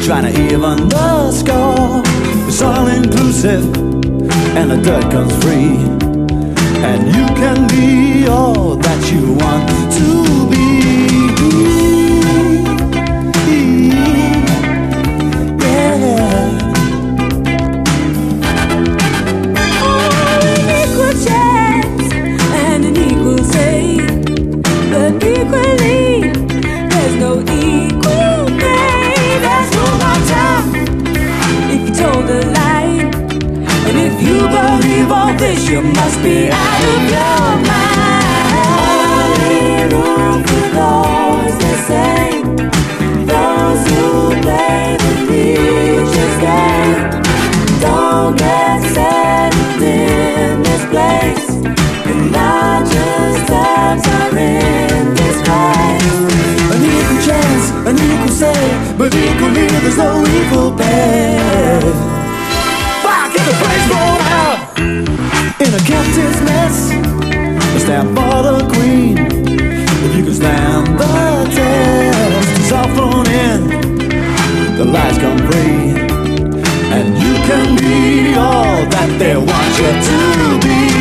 trying to even the score. It's all inclusive and the dirt comes free, and you can be all that you want to be. You must be out of your mind. Only room for those the same, those who play the future's game. Don't get settled in this place. The largest times are in this place. An equal chance, an equal say, but equally there's no equal pay. Back in the place roll out. In a captain's mess, stand for the queen. If you can stand the test, it's all thrown in, the lies come free, and you can be all that they want you to be.